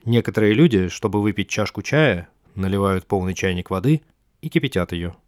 Некоторые люди, чтобы выпить чашку чая, наливают полный чайник воды и кипятят ее.